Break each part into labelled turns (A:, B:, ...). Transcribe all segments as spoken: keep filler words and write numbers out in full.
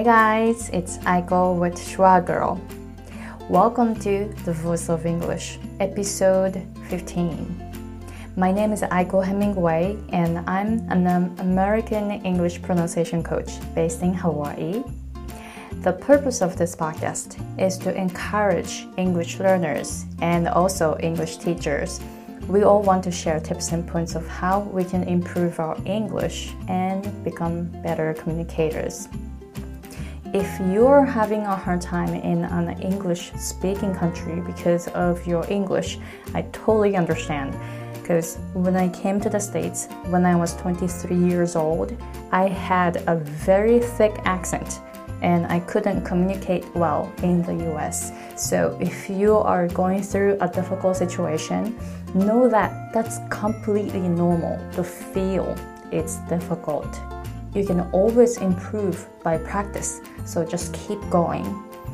A: guys, it's Aiko with Schwa Girl. Welcome to The Voice of English, episode fifteen. My name is Aiko Hemingway, and I'm an American English pronunciation coach based in Hawaii. The purpose of this podcast is to encourage English learners and also English teachers. We all want to share tips and points of how we can improve our English and become better communicators. If you're having a hard time in an English-speaking country because of your English, I totally understand. Because when I came to the States, when I was twenty-three years old, I had a very thick accent and I couldn't communicate well in the U S. So if you are going through a difficult situation, know that that's completely normal to feel it's difficult. You can always improve by practice, so just keep going.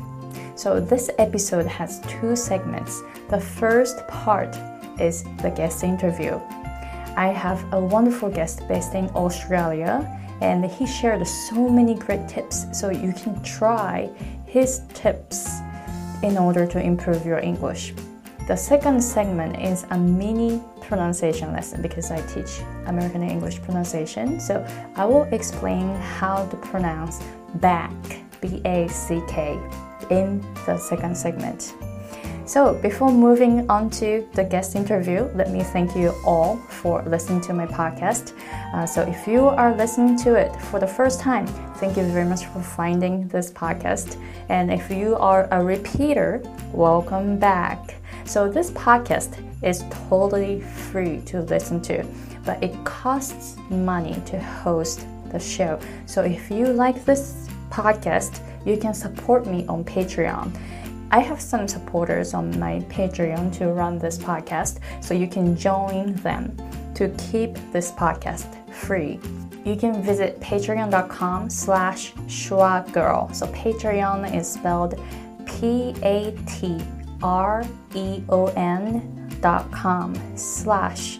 A: So this episode has two segments. The first part is the guest interview. I have a wonderful guest based in Australia, and he shared so many great tips, so you can try his tips in order to improve your English. The second segment is a mini pronunciation lesson because I teach American English pronunciation, so I will explain how to pronounce back, B A C K, in the second segment. So before moving on to the guest interview, let me thank you all for listening to my podcast. Uh, so if you are listening to it for the first time, thank you very much for finding this podcast. And if you are a repeater, welcome back. So this podcast is totally free to listen to, but it costs money to host the show. So if you like this podcast, you can support me on Patreon. I have some supporters on my Patreon to run this podcast, so you can join them to keep this podcast free. You can visit patreon.com slash schwagirl. So Patreon is spelled P A T R E O N dot com slash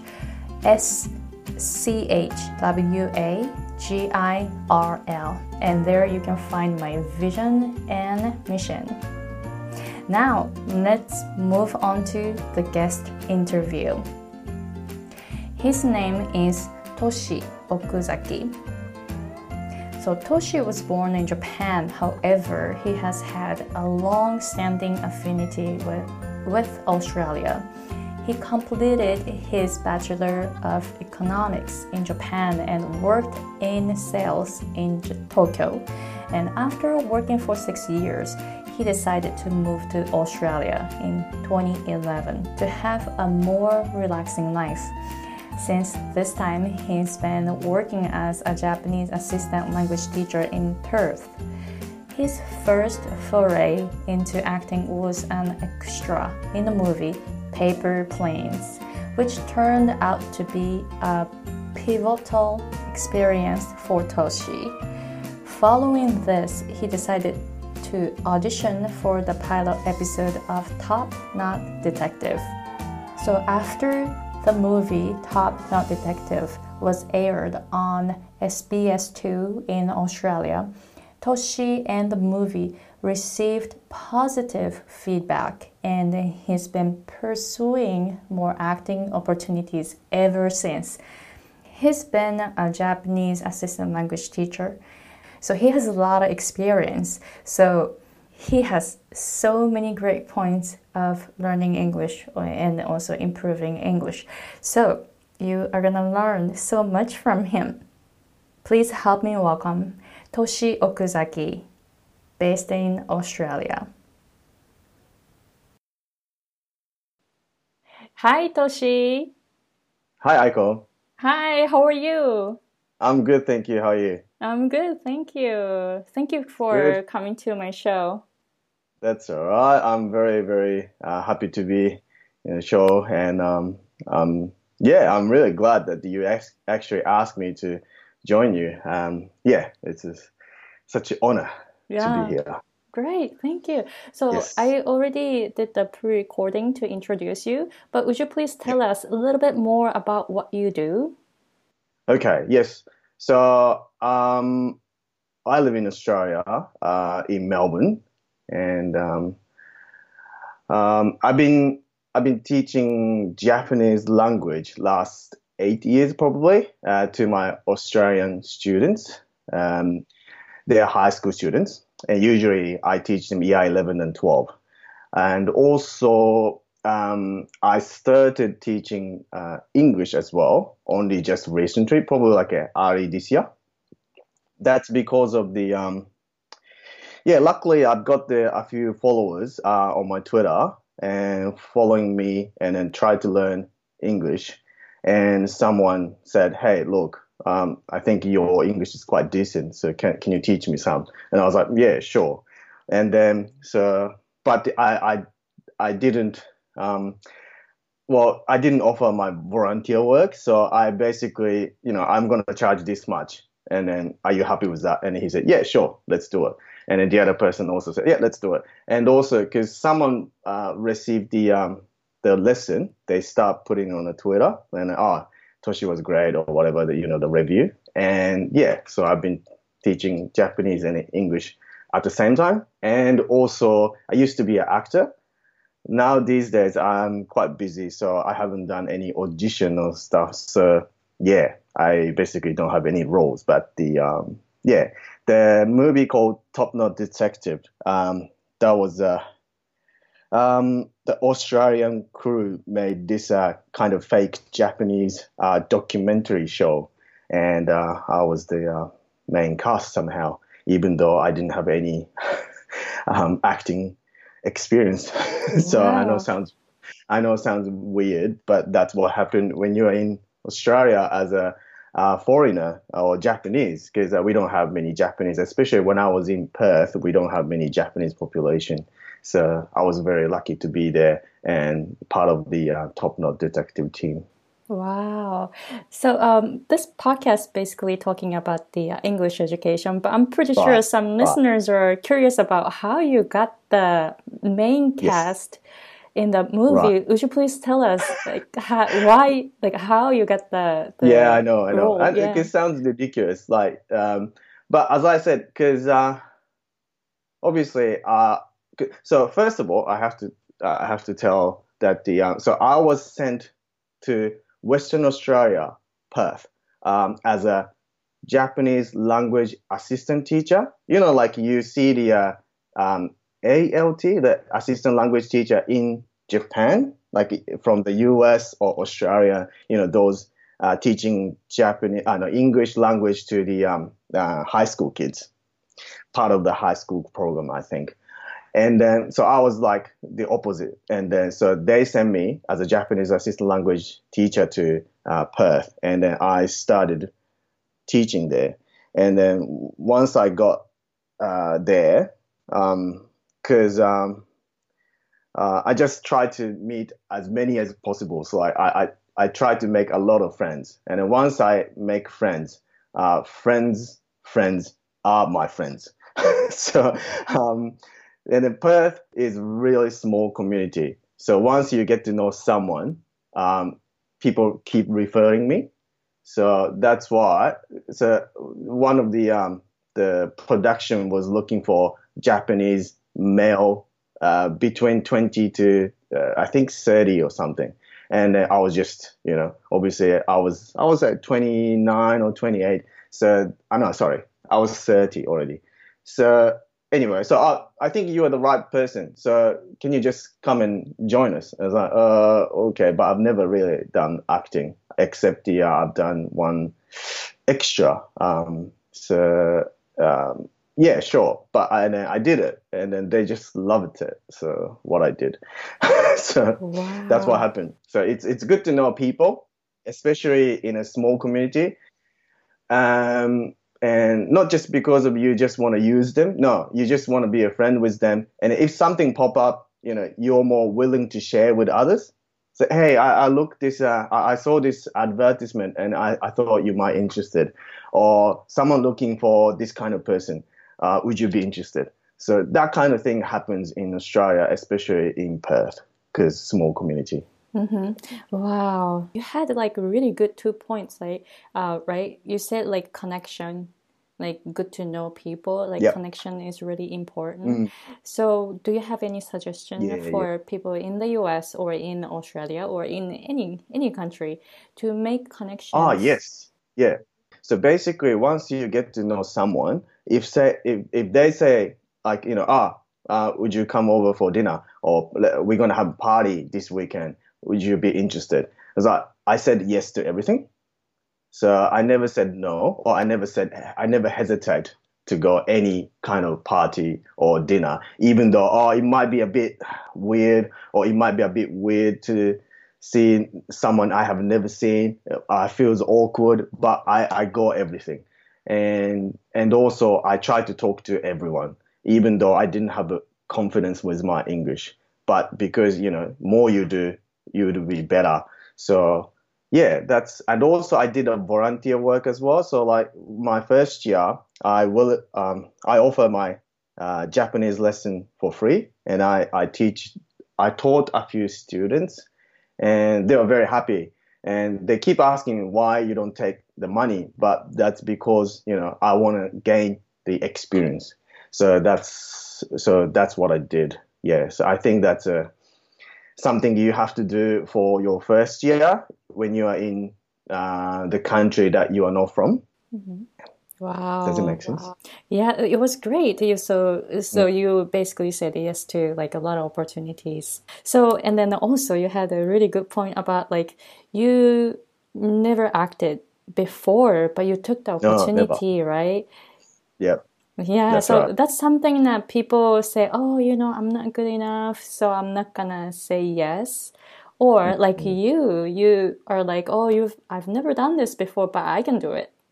A: S C H W A G I R L. And there you can find my vision and mission. Now, let's move on to the guest interview. His name is Toshi Okuzaki. So Toshi was born in Japan, however, he has had a long-standing affinity with, with Australia. He completed his Bachelor of Economics in Japan and worked in sales in Tokyo. And after working for six years, he decided to move to Australia in twenty eleven to have a more relaxing life. Since this time, he's been working as a Japanese assistant language teacher in Perth. His first foray into acting was an extra in the movie Paper Planes, which turned out to be a pivotal experience for Toshi. Following this, he decided to audition for the pilot episode of Top Knot Detective. So after the movie Top Knot Detective was aired on S B S two in Australia, Toshi and the movie received positive feedback, and he's been pursuing more acting opportunities ever since. He's been a Japanese assistant language teacher, so he has a lot of experience. So he has so many great points of learning English and also improving English. So you are going to learn so much from him. Please help me welcome Toshi Okuzaki, based in Australia. Hi, Toshi.
B: Hi, Aiko.
A: Hi, how are you?
B: I'm good, thank you. How are you?
A: I'm good, thank you. Thank you for
B: Good.
A: coming to my show.
B: That's all right. I'm very, very uh, happy to be in the show, and um, um, yeah, I'm really glad that you ex- actually asked me to join you. Um, yeah, it's just such an honor
A: Yeah.
B: to be here.
A: Great, thank you. So
B: Yes.
A: I already did the pre-recording to introduce you, but would you please tell us a little bit more about what you do?
B: Okay. Yes. So um, I live in Australia, uh, in Melbourne, and um, um, I've been I've been teaching Japanese language last eight years probably uh, to my Australian students. Um, they're high school students, and usually I teach them year eleven and twelve. And also, um, I started teaching uh, English as well, only just recently, probably like uh, early this year. That's because of the um, yeah. Luckily, I've got the, a few followers uh, on my Twitter and following me, and then tried to learn English. And someone said, "Hey, look, um, I think your English is quite decent. So can can you teach me some?" And I was like, "Yeah, sure." And then so, but I I I didn't. Um, well, I didn't offer my volunteer work, so I basically, you know, I'm going to charge this much. And then, are you happy with that? And he said, yeah, sure, let's do it. And then the other person also said, yeah, let's do it. And also, because someone uh, received the um, the lesson, they start putting it on the Twitter, and oh, Toshi was great or whatever, the, you know, the review. And yeah, so I've been teaching Japanese and English at the same time. And also, I used to be an actor. Now these days I'm quite busy, so I haven't done any audition or stuff. So yeah, I basically don't have any roles. But the um, yeah, the movie called Top Knot Detective. Um, that was uh, um, the Australian crew made this uh, kind of fake Japanese uh, documentary show, and uh, I was the uh, main cast somehow, even though I didn't have any um, acting experience. So I know it
A: Wow.
B: sounds I know it sounds weird, but that's what happened when you're in Australia as a uh, foreigner or Japanese, because uh, we don't have many Japanese, especially when I was in Perth, we don't have many Japanese population. So I was very lucky to be there and part of the uh, Top Knot Detective team.
A: Wow. So um, this podcast basically talking about the uh, English education, but I'm pretty sure
B: Right,
A: some
B: right.
A: listeners are curious about how you got the main
B: Yes,
A: cast in the
B: right.
A: movie. Would you please tell us like how, why, like how you got the
B: Yeah, I
A: the
B: know, I know.
A: role?
B: And it,
A: Yeah.
B: it sounds ridiculous, like, um, but as I said, because uh, obviously, uh, so first of all, I have to uh, I have to tell that the uh, so I was sent to Western Australia, Perth, um, as a Japanese language assistant teacher. You know, like you see the uh, um, A L T, the assistant language teacher in Japan, like from the U S or Australia. You know, those uh, teaching Japanese, uh, no, English language to the um, uh, high school kids, part of the high school program, I think. And then, so I was like the opposite. And then, so they sent me as a Japanese assistant language teacher to uh, Perth. And then I started teaching there. And then once I got uh, there, because um, um, uh, I just tried to meet as many as possible. So I, I, I, I tried to make a lot of friends. And then once I make friends, uh, friends, friends are my friends. So, um, and then Perth is really small community. So once you get to know someone, um, people keep referring me. So that's why. So one of the um, the production was looking for Japanese male uh, between twenty to uh, I think thirty or something. And uh, I was just, you know, obviously I was I was at twenty-nine or twenty-eight. So I know, sorry, I was thirty already. So anyway, so I, I think you are the right person. So can you just come and join us? I was like, uh, okay, but I've never really done acting except the uh, I've done one extra. Um, so um, yeah, sure, but I, and then I did it, and then they just loved it. So what I did, so that's what
A: Wow.
B: happened. So it's it's good to know people, especially in a small community. Um, and not just because of you just want to use them. No, you just want to be a friend with them. And if something pop up, you know, you're more willing to share with others. So, hey, I, I looked this, uh, I I saw this advertisement and I, I thought you might interested. Or someone looking for this kind of person. Uh, would you be interested? So that kind of thing happens in Australia, especially in Perth, because small community.
A: Mm-hmm. Wow. You had like really good two points, like uh, right? You said like connection, like good to know people. Like
B: Yep.
A: connection is really important.
B: Mm.
A: So do you have any suggestion
B: Yeah, yeah.
A: for people in the U S or in Australia or in any any country to make
B: Ah,
A: connections?
B: yes. Yeah. So basically, once you get to know someone, if say if, if they say like, you know, ah, uh, would you come over for dinner, or "Le- we're gonna have a party this weekend? Would you be interested?" It's like I said yes to everything. So I never said no, or I never said I never hesitate to go any kind of party or dinner, even though oh it might be a bit weird, or it might be a bit weird to see someone I have never seen. I feels awkward, but I I go everything, and and also I try to talk to everyone, even though I didn't have a confidence with my English. But because you know more you do, you would be better. So yeah, that's and also I did a volunteer work as well. So like my first year, I will um, I offer my uh, Japanese lesson for free, and I I teach I taught a few students, and they were very happy. And they keep asking me why you don't take the money, but that's because you know I want to gain the experience. So that's so that's what I did. Yeah, so I think that's a something you have to do for your first year when you are in uh, the country that you are not from.
A: Mhm.
B: Does it
A: Wow.
B: make sense?
A: Yeah, it was great. You so
B: Mm.
A: so you basically said yes to like a lot of opportunities. So and then also you had a really good point about like you never acted before, but you took the
B: No, never.
A: opportunity, right?
B: Yeah,
A: Yeah,
B: that's right.
A: so that's something that people say, oh, you know, I'm not good enough, so I'm not gonna say yes. Or like
B: Mm.
A: you, you are like, oh, you've I've never done this before, but I can do it.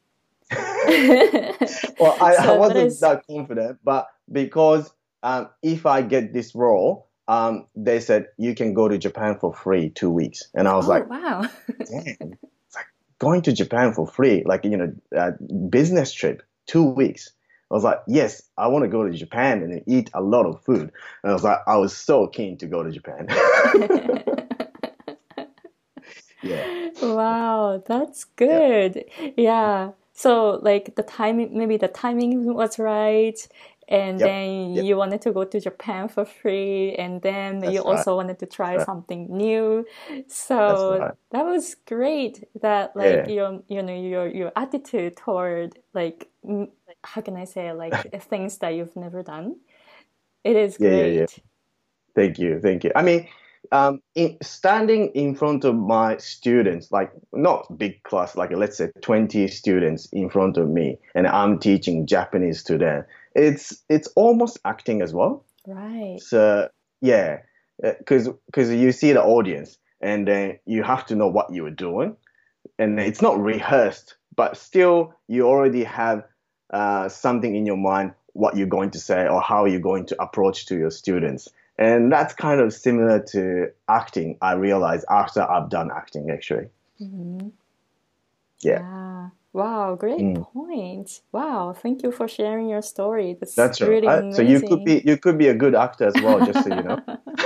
B: Well, I, I
A: So that
B: wasn't
A: is,
B: that confident, but because um, if I get this role, um, they said you can go to Japan for free two weeks, and I was
A: oh,
B: like,
A: wow.
B: damn, it's like going to Japan for free, like you know, a business trip, two weeks. I was like, yes, I want to go to Japan and eat a lot of food. And I was like, I was so keen to go to Japan. Yeah,
A: Wow, that's
B: yeah,
A: good. Yeah. So like the timing, maybe the timing was right, and
B: yep,
A: then
B: yep.
A: you wanted to go to Japan for free, and then you
B: That's right.
A: also wanted to
B: That's
A: try
B: right.
A: something new.
B: That's
A: So
B: right.
A: that was great that like
B: Yeah,
A: your you know your your attitude toward like mm, how can I say like things that you've never done. It is
B: yeah, yeah, yeah.
A: great.
B: Thank you, thank you. I mean, um, in, standing in front of my students, like not big class, like let's say twenty students in front of me, and I'm teaching Japanese to them. It's it's almost acting as well.
A: Right.
B: So yeah, because because you see the audience, and then you have to know what you are doing, and it's not rehearsed, but still you already have uh, something in your mind what you're going to say or how you're going to approach to your students. And that's kind of similar to acting, I realized after I've done acting actually.
A: Mhm.
B: Yeah.
A: Yeah. Wow, great
B: Mm,
A: point. Wow, thank you for sharing your story. That's
B: that's
A: really
B: right. So you could
A: amazing.
B: be you could be a good actor as well, just so you know.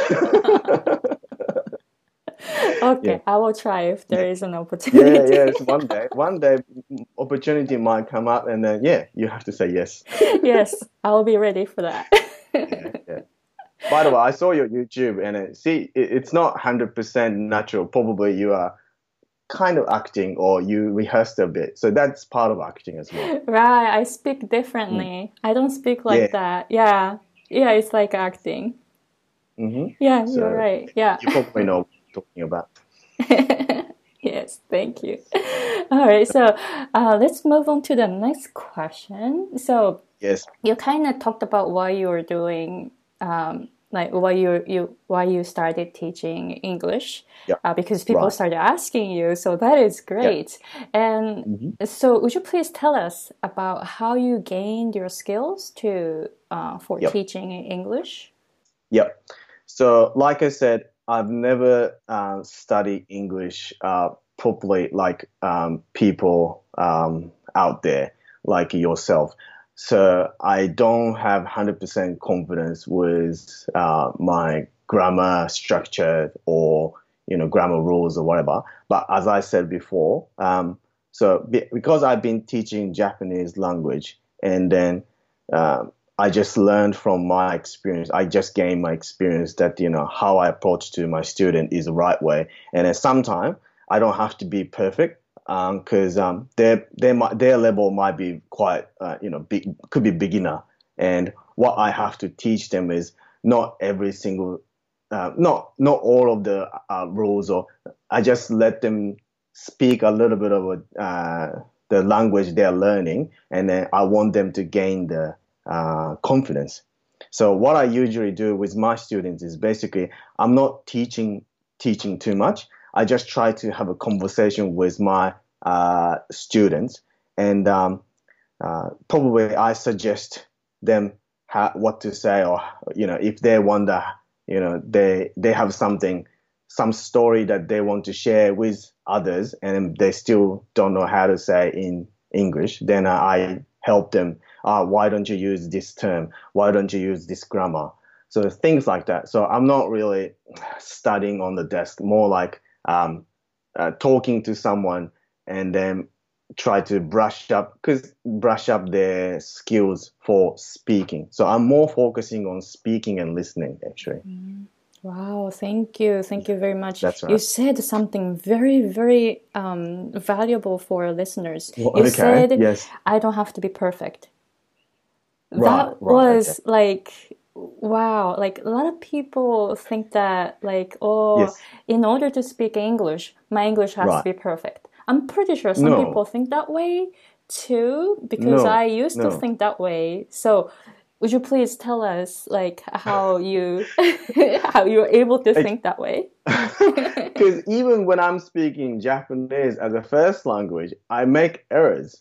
B: Yeah.
A: Okay, I will try if
B: Yeah.
A: there is an
B: Yeah,
A: opportunity.
B: yes. One day, one day, opportunity might come up, and then yeah, you have to say yes.
A: Yes, I will be ready for that.
B: Yeah, yeah. By the way, I saw your YouTube, and it, see, it, it's not one hundred percent natural. Probably you are kind of acting, or you rehearsed a bit. So that's part of acting as well.
A: Right, I speak
B: Mm.
A: differently. I don't speak like
B: Yeah.
A: that. Yeah. Yeah, it's like acting.
B: Hmm.
A: Yeah, you're
B: So
A: right. Yeah.
B: you probably know what I'm talking about.
A: Yes, thank you. All right, so uh, let's move on to the next question. So
B: Yes.
A: you kind of talked about why you were doing um, like why you you why you started teaching English
B: Yeah.
A: uh, because people
B: Right.
A: started asking you. So that is
B: Yeah.
A: great. And
B: Hmm.
A: so would you please tell us about how you gained your skills to uh, for
B: Yep.
A: teaching English?
B: Yep. So, like I said, I've never uh, studied English uh, properly like um, people um, out there, like yourself. So, I don't have one hundred percent confidence with uh, my grammar structure or, you know, grammar rules or whatever. But as I said before, um, so be, because I've been teaching Japanese language, and then uh, I just learned from my experience. I just gained my experience that, you know, how I approach to my student is the right way. And at some time, I don't have to be perfect because um, um, their their their level might be quite, uh, you know, big, could be beginner. And what I have to teach them is not every single, uh, not not all of the uh, rules, or I just let them speak a little bit of a, uh, the language they're learning, and then I want them to gain the uh, confidence. So what I usually do with my students is basically I'm not teaching teaching too much. I just try to have a conversation with my uh, students, and um, uh, probably I suggest them how, what to say, or you know, if they wonder, you know, they they have something, some story that they want to share with others, and they still don't know how to say in English, then I help them. Uh, why don't you use this term? Why don't you use this grammar? So things like that. So I'm not really studying on the desk, more like um, uh, talking to someone and then try to brush up, because brush up their skills for speaking. So I'm more focusing on speaking and listening, actually.
A: Mm. Wow, thank you. Thank you very much.
B: That's right.
A: You said something very, very um, valuable for our listeners.
B: Well,
A: you
B: okay,
A: said,
B: yes.
A: I don't have to be perfect.
B: Right,
A: That
B: right,
A: was
B: okay.
A: like, wow. Like a lot of people think that like, oh,
B: Yes.
A: in order to speak English, my English has
B: Right.
A: to be perfect. I'm pretty sure some
B: No.
A: people think that way too, because
B: No,
A: I used to
B: no.
A: think that way. So would you please tell us like how you how you're able to think that way?
B: Because even when I'm speaking Japanese as a first language, I make errors.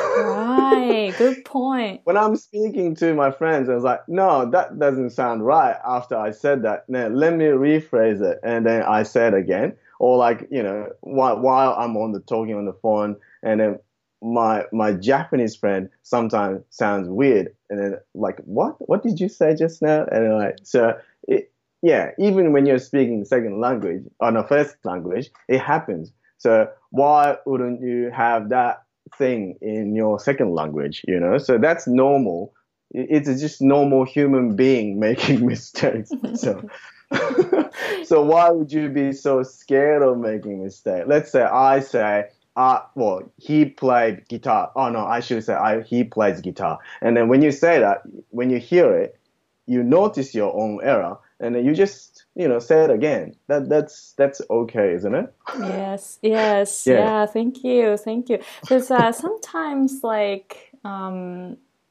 A: Right, good point.
B: When I'm speaking to my friends, I was like, no, that doesn't sound right. After I said that, now let me rephrase it. And then I said again, or like, you know, while, while I'm on the talking on the phone, and then my my Japanese friend sometimes sounds weird, and then like, what? What did you say just now? And then like, so it, yeah, even when you're speaking second language or no first language, it happens. So why wouldn't you have that thing in your second language? You know, so that's normal. It's just normal human being making mistakes. So. So why would you be so scared of making mistakes? Let's say I say, uh, well, he played guitar. Oh no, I should say I, he plays guitar. And then when you say that, when you hear it, you notice your own error, and then you just, you know, say it again. That that's that's okay, isn't it?
A: Yes, yes,
B: Yeah.
A: yeah. Thank you, thank you. Because uh, sometimes, like, um,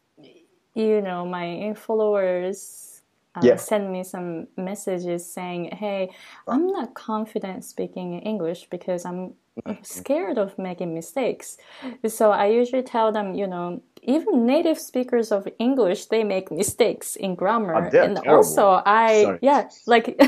A: you know, my followers uh,
B: Yeah.
A: send me some messages saying, "Hey, I'm not confident speaking in English because I'm scared of making mistakes." So I usually tell them, you know, even native speakers of English, they make mistakes in grammar.
B: Oh, they're
A: And
B: terrible.
A: also I,
B: Sorry.
A: yeah, like,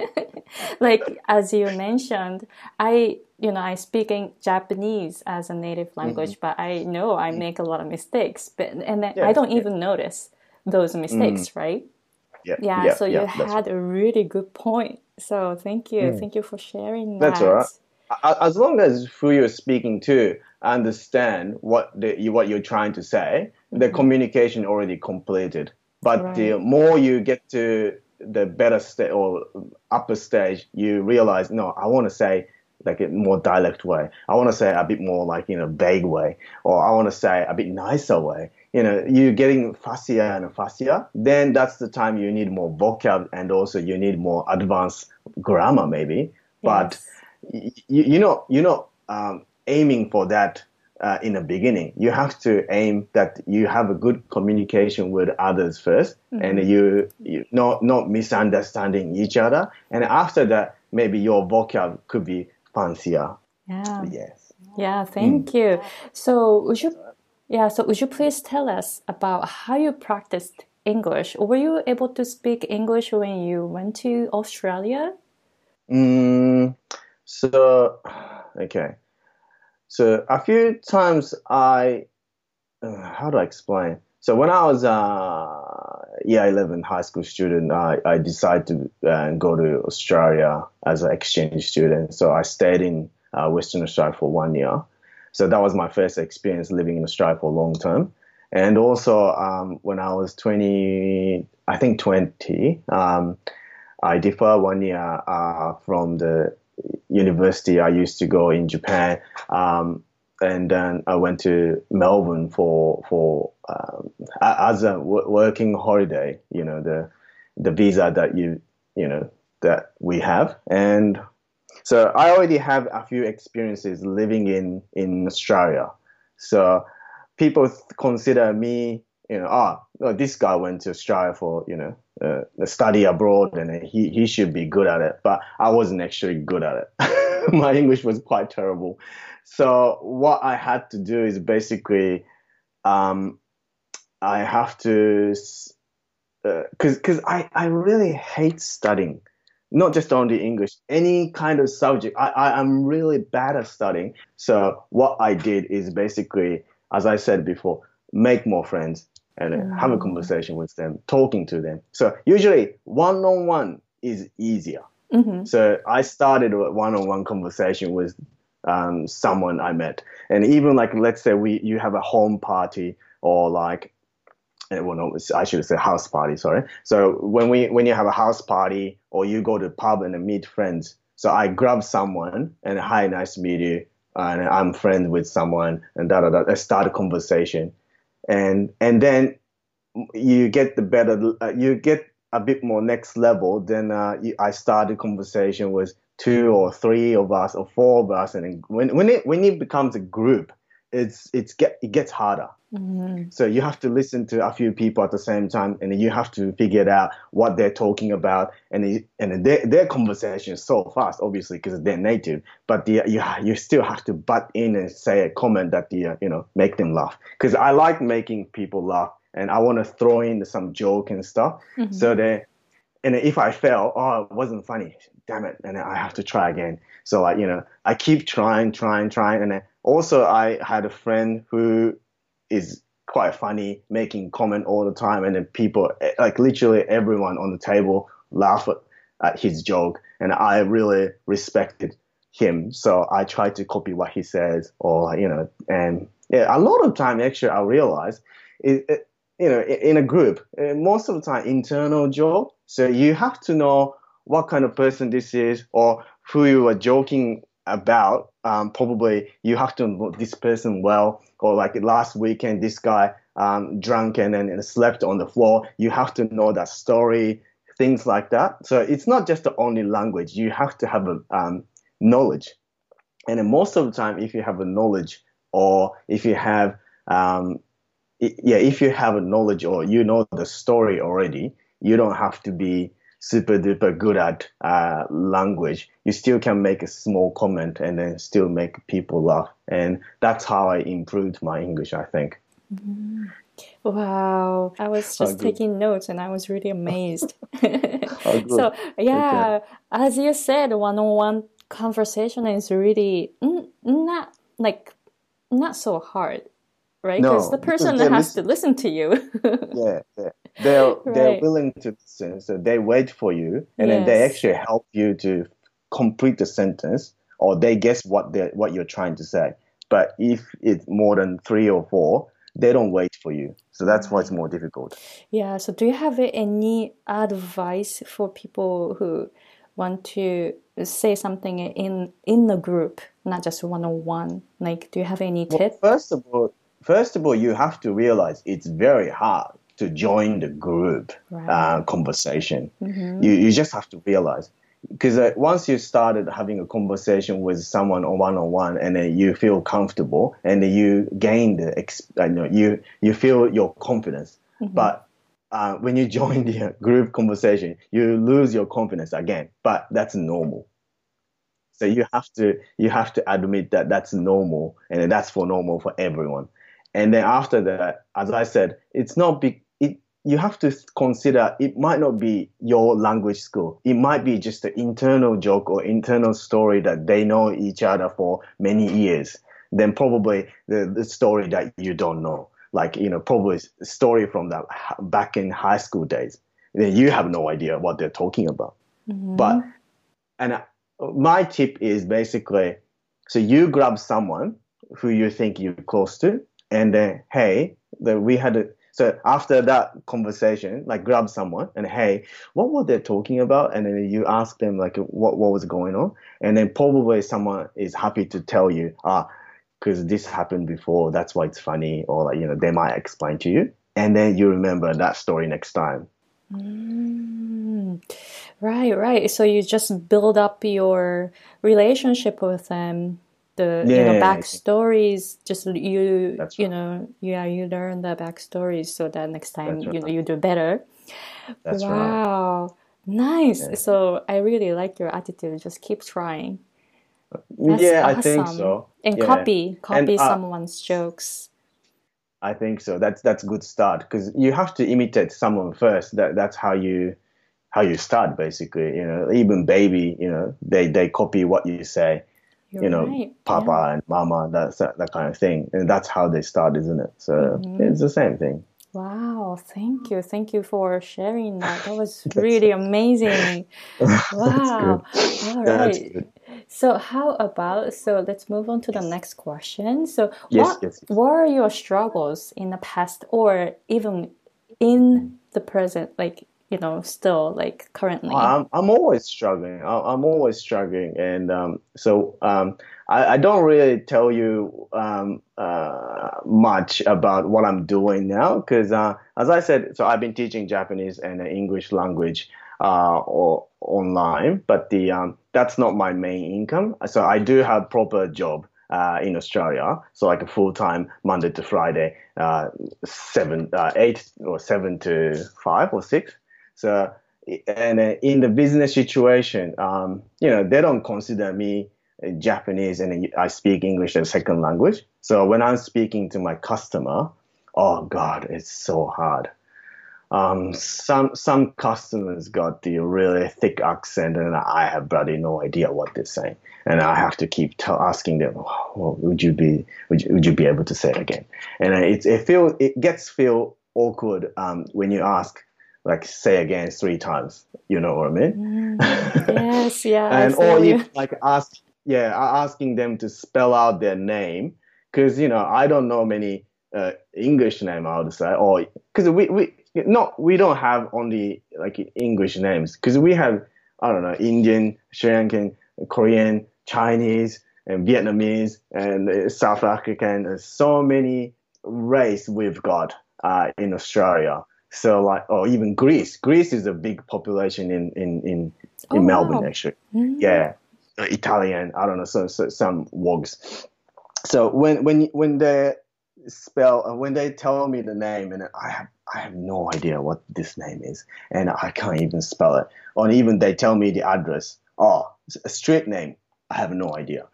A: like as you mentioned, I, you know, I speak in Japanese as a native language, but I know I make a lot of mistakes, but, and then I
B: Yes,
A: don't
B: yes.
A: even notice those mistakes, right?
B: Yeah.
A: Yeah,
B: yeah,
A: so
B: yeah,
A: you
B: that's
A: had a really good point. So thank you. Thank you for sharing
B: That's
A: that.
B: all right. A- As long as who you're speaking to understand what the, you- what you're trying to say, the communication already completed. But the
A: Right.
B: more you get to the better state or upper stage, you realize, no, I want to say like a more dialect way. I want to say a bit more like, you know, vague way, or I want to say a bit nicer way. You know, you're getting fussier and fussier. Then that's the time you need more vocab, and also you need more advanced grammar, maybe. But
A: Yes.
B: you, you're not you're not um, aiming for that uh, in the beginning. You have to aim that you have a good communication with others first, and you you not not misunderstanding each other. And after that, maybe your vocab could be fancier.
A: Yeah.
B: Yes.
A: Yeah, thank you. So would you yeah, so would you please tell us about how you practiced English? Were you able to speak English when you went to Australia?
B: Mm, so okay. So a few times I uh, how do I explain? So when I was uh, year eleven high school student, I, I decided to uh, go to Australia as an exchange student. So I stayed in uh, Western Australia for one year. So that was my first experience living in Australia for a long term. And also, um, when I was twenty, I think twenty, um, I deferred one year uh, from the university I used to go in Japan. Um, and then I went to Melbourne for for um, as a w- working holiday. You know, the the visa that you you know that we have, and so I already have a few experiences living in in Australia. So people th- consider me, you know, ah, oh, this guy went to Australia for you know uh, a study abroad, and he he should be good at it. But I wasn't actually good at it. My English was quite terrible. So what I had to do is basically um, I have to because because I, I really hate studying, not just only English, any kind of subject. I, I I'm really bad at studying. So what I did is basically, as I said before, make more friends and uh, have a
A: Mm.
B: conversation with them, talking to them. So usually one on one is easier.
A: Mm-hmm.
B: So I started a one on one conversation with um, someone I met, and even like let's say we you have a home party or like and well, no, I should say house party. Sorry. So when we when you have a house party or you go to the pub and meet friends, so I grab someone and hi, nice to meet you, and I'm friends with someone and da da da. I start a conversation, and and then you get the better, uh, you get a bit more next level. Then uh, you, I start a conversation with two or three of us or four of us, and then when when it when it becomes a group, it's it's get it gets harder.
A: Mm-hmm.
B: So you have to listen to a few people at the same time, and you have to figure out what they're talking about, and it, and their their conversation is so fast, obviously, because they're native. But the, you you still have to butt in and say a comment that the uh, you know make them laugh. Because I like making people laugh, and I want to throw in some joke and stuff.
A: Mm-hmm.
B: So they and if I fail, oh, it wasn't funny, damn it, and then I have to try again. So like you know, I keep trying, trying, trying, and then also I had a friend who is quite funny, making comment all the time, and then people, like literally everyone on the table, laugh at, at his joke, and I really respected him, so I tried to copy what he says, or you know, and yeah, a lot of time actually I realized, it, it, you know, in a group, uh, most of the time internal joke, so you have to know what kind of person this is, or who you are joking about. Um, probably you have to know this person well, or like last weekend, this guy um, drunk and then and slept on the floor. You have to know that story, things like that. So it's not just the only language. You have to have a um, knowledge, and then most of the time, if you have a knowledge, or if you have um, yeah, if you have a knowledge or you know the story already, you don't have to be super duper good at uh, language. You still can make a small comment and then still make people laugh. And that's how I improved my English, I think.
A: Mm-hmm. Wow, I was
B: Oh,
A: just
B: good.
A: taking notes and I was really amazed.
B: Oh, good.
A: So,
B: Okay.
A: yeah, as you said, one-on-one conversation is really n not like not so hard, right? Because the
B: No, because
A: person
B: they
A: has to
B: listen.
A: listen to you.
B: Yeah, yeah. They're they're
A: Right.
B: willing to listen, so they wait for you, and then they
A: Yes.
B: actually help you to complete the sentence, or they guess what they what you're trying to say. But if it's more than three or four, they don't wait for you. So that's why it's
A: Right.
B: more difficult.
A: Yeah. So, do you have any advice for people who want to say something in in a group, not just one-on-one? Like, do you have any
B: Well,
A: tip?
B: first of all, first of all, you have to realize it's very hard to join the group
A: Right.
B: uh, conversation.
A: Mm-hmm.
B: You you just have to realize because uh, once you started having a conversation with someone on one on one, and then you feel comfortable, and then you gain the ex- uh, you know, you you feel your confidence.
A: Mm-hmm.
B: But uh, when you join the uh, group conversation, you lose your confidence again. But that's normal. So you have to you have to admit that that's normal, and that's for normal for everyone. And then after that, as I said, it's not big. It you have to consider it might not be your language school. It might be just an internal joke or internal story that they know each other for many years. Then probably the, the story that you don't know, like you know, probably a story from that back in high school days. Then you have no idea what they're talking about. But
A: Mm-hmm.
B: and uh, my tip is basically, so you grab someone who you think you're close to, and then hey, the, we had a, so after that conversation, like grab someone and hey, what were they talking about? And then you ask them like what what was going on, and then probably someone is happy to tell you, ah, because this happened before, that's why it's funny, or like you know they might explain to you, and then you remember that story next time.
A: Mm, right, right. So you just build up your relationship with them. The you know
B: Yeah,
A: backstories. Just you
B: that's
A: you
B: right.
A: know yeah you learn the backstories so that next
B: That's
A: time you know
B: right.
A: you do better.
B: That's right.
A: Wow, nice.
B: Yeah.
A: So I really like your attitude. Just keep trying. That's
B: Yeah, I think
A: awesome.
B: so.
A: And
B: Yeah.
A: copy
B: And
A: copy
B: uh,
A: someone's jokes.
B: I think so. That's that's a good start because you have to imitate someone first. That that's how you how you start basically. You know, even baby, you know, they they copy what you say.
A: You're
B: You know,
A: right. Yeah.
B: Papa and Mama, that's that, that kind of thing, and that's how they start, isn't it? So
A: Mm-hmm.
B: it's the same thing.
A: Wow, thank you. Thank you for sharing that. That was
B: That's
A: really amazing.
B: that's good.
A: Wow. All
B: That's
A: right.
B: good.
A: So how about, so let's move on to the
B: Yes.
A: next question. So
B: Yes.
A: what
B: Yes.
A: what are your struggles in the past or even in the present, like, you know, still like currently?
B: I'm I'm always struggling. I- I'm always struggling, and um, so um, I, I don't really tell you um, uh, much about what I'm doing now because, uh, as I said, so I've been teaching Japanese and uh, English language uh, or online, but the um, that's not my main income. So I do have proper job. Uh, in Australia, so like a full time Monday to Friday, uh, seven, uh, eight or seven to five or six. So and uh, in the business situation, um, you know, they don't consider me uh, Japanese and I speak English as a second language. So when I'm speaking to my customer, oh God, it's so hard. Um, some some customers got the really thick accent, and I have bloody no idea what they're saying, and I have to keep t- asking them, oh, "Would you be would you, would you be able to say it again?" And it it feel it gets feel awkward um, when you ask like say again three times. You know what I mean?
A: Mm, yes, yeah, I
B: And or
A: feel
B: if
A: you.
B: like ask yeah asking them to spell out their name because you know I don't know many uh, English name I would say or because we we not we don't have only like English names because we have I don't know Indian, Sri Lankan, Korean, Chinese, and Vietnamese and uh, South African. There's so many race we've got uh, in Australia. So like, or even Greece. Greece is a big population in in in,
A: Oh,
B: in Melbourne
A: wow.
B: actually.
A: Mm,
B: Yeah, uh, Italian. I don't know. So, so some wogs. So when when when they spell uh, when they tell me the name and I have I have no idea what this name is and I can't even spell it. Or even they tell me the address. Oh, it's a street name. I have no idea.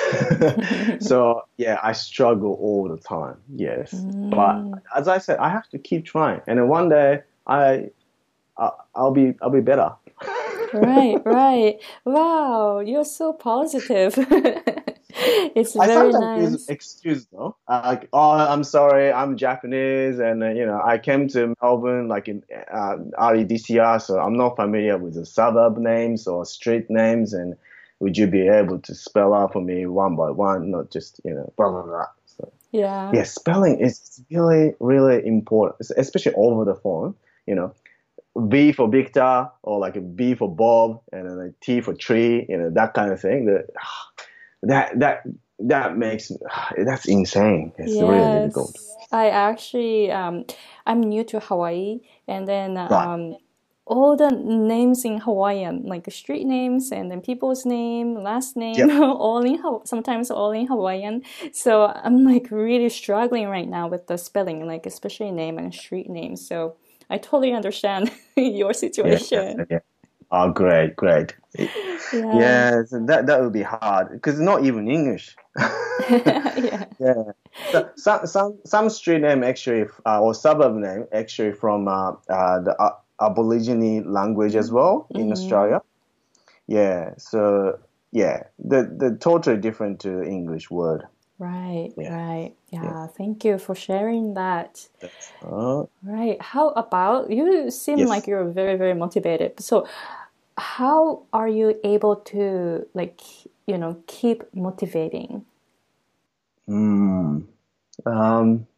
B: So yeah, I struggle all the time. Yes, but
A: mm.
B: as I said, I have to keep trying, and then one day I, I I'll be I'll be better.
A: Right, right. Wow, you're so positive. It's
B: I
A: very
B: sometimes use
A: nice.
B: excuse though. Uh, like, oh, I'm sorry, I'm Japanese, and uh, you know, I came to Melbourne like in uh, early this year, so I'm not familiar with the suburb names or street names. And would you be able to spell out for me one by one, not just you know, blah blah blah. So
A: Yeah.
B: yeah, spelling is really really important, especially over the phone. You know, B for Victor or like a B for Bob, and then a T for tree. You know, that kind of thing. That that that that makes that's insane. It's really difficult.
A: Yes. I actually um I'm new to Hawaii and then
B: Right.
A: um all the names in Hawaiian, like street names and then people's name, last name,
B: Yep.
A: all in Haw- sometimes all in Hawaiian. So I'm like really struggling right now with the spelling, like especially name and street names. So I totally understand your
B: Yeah.
A: situation.
B: Yeah. Oh, great, great.
A: Yeah.
B: Yeah, so that that would be hard because not even English.
A: Yeah.
B: Yeah. So some some some street name actually uh, or suburb name actually from uh, uh, the uh, Aborigine language as well in
A: Mm-hmm.
B: Australia. Yeah. So yeah, the the totally different to English word.
A: Right,
B: Yeah.
A: right.
B: Yeah.
A: Yeah, thank you for sharing that.
B: That's uh,
A: Right. How about you seem like
B: yes.
A: you're very, very motivated. So how are you able to like, you know, keep motivating?
B: Hmm. Um,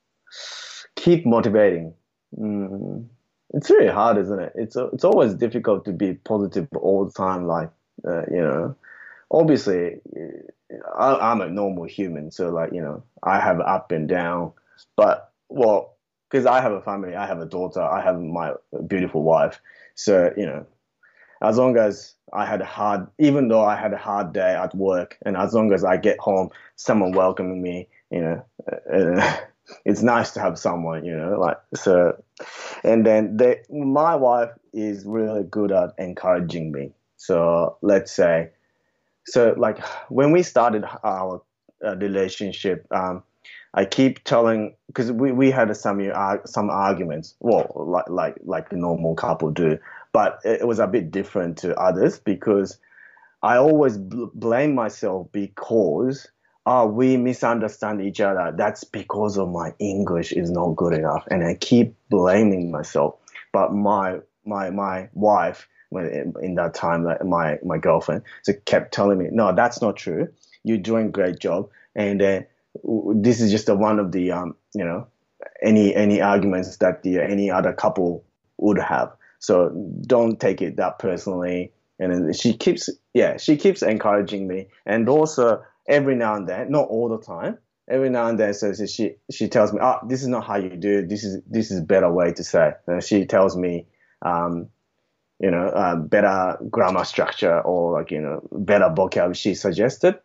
B: keep motivating. Mm, it's really hard, isn't it? It's it's always difficult to be positive all the time. Like, uh, you know, obviously, I, I'm a normal human, so like, you know, I have up and down. But well, because I have a family, I have a daughter, I have my beautiful wife. So you know, as long as I had a hard, even though I had a hard day at work, and as long as I get home, someone welcoming me, you know, uh, it's nice to have someone, you know, like so. And then they, my wife is really good at encouraging me. So let's say, so like when we started our uh, relationship, um, I keep telling because we, we had some uh, some arguments, well, like like like a normal couple do, but it was a bit different to others because I always bl- blame myself because oh, we misunderstand each other. That's because of my English is not good enough, and I keep blaming myself. But my my my wife, when in that time, like my my girlfriend, so kept telling me, no, that's not true. You're doing a great job, and uh, this is just a, one of the um you know any any arguments that the any other couple would have. So don't take it that personally. And then she keeps, yeah, she keeps encouraging me, and also every now and then, not all the time, every now and then, so she she tells me, oh, this is not how you do it. This is this is a better way to say. And she tells me, um, you know, uh, better grammar structure or like you know better vocab she suggested.